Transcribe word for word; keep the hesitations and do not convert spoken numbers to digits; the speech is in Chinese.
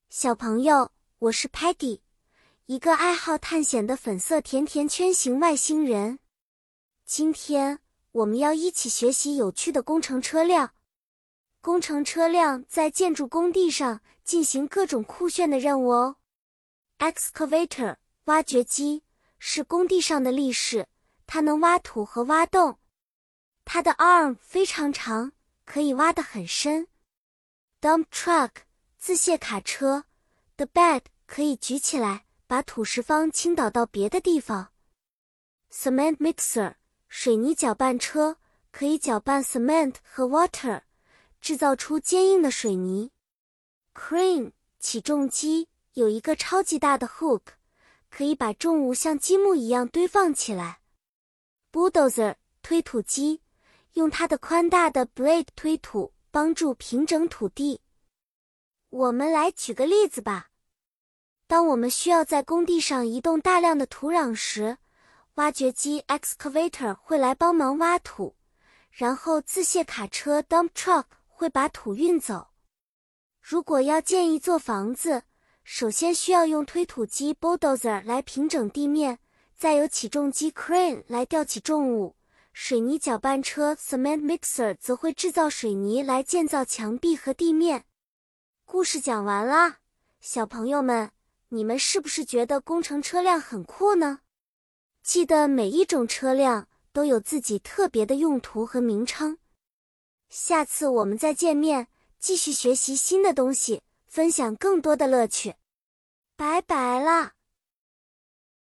小朋友，我是 Peggy， 一个爱好探险的粉色甜甜圈型外星人。今天我们要一起学习有趣的工程车辆。工程车辆在建筑工地上进行各种酷炫的任务哦。Excavator 挖掘机是工地上的力士，它能挖土和挖洞。它的 arm 非常长，可以挖得很深。Dump truck 自卸卡车 The bed 可以举起来，把土石方倾倒到别的地方。Cement mixer 水泥搅拌车可以搅拌 cement 和 water， 制造出坚硬的水泥。Crane 起重机有一个超级大的 hook， 可以把重物像积木一样堆放起来。Bulldozer 推土机用它的宽大的 blade 推土，帮助平整土地。我们来举个例子吧。当我们需要在工地上移动大量的土壤时，挖掘机 excavator 会来帮忙挖土，然后自卸卡车 dump truck 会把土运走。如果要建一座房子，首先需要用推土机 bulldozer 来平整地面，再由起重机 crane 来吊起重物，水泥搅拌车 cement mixer 则会制造水泥来建造墙壁和地面。故事讲完啦，小朋友们，你们是不是觉得工程车辆很酷呢？记得每一种车辆都有自己特别的用途和名称。下次我们再见面，继续学习新的东西，分享更多的乐趣。拜拜啦！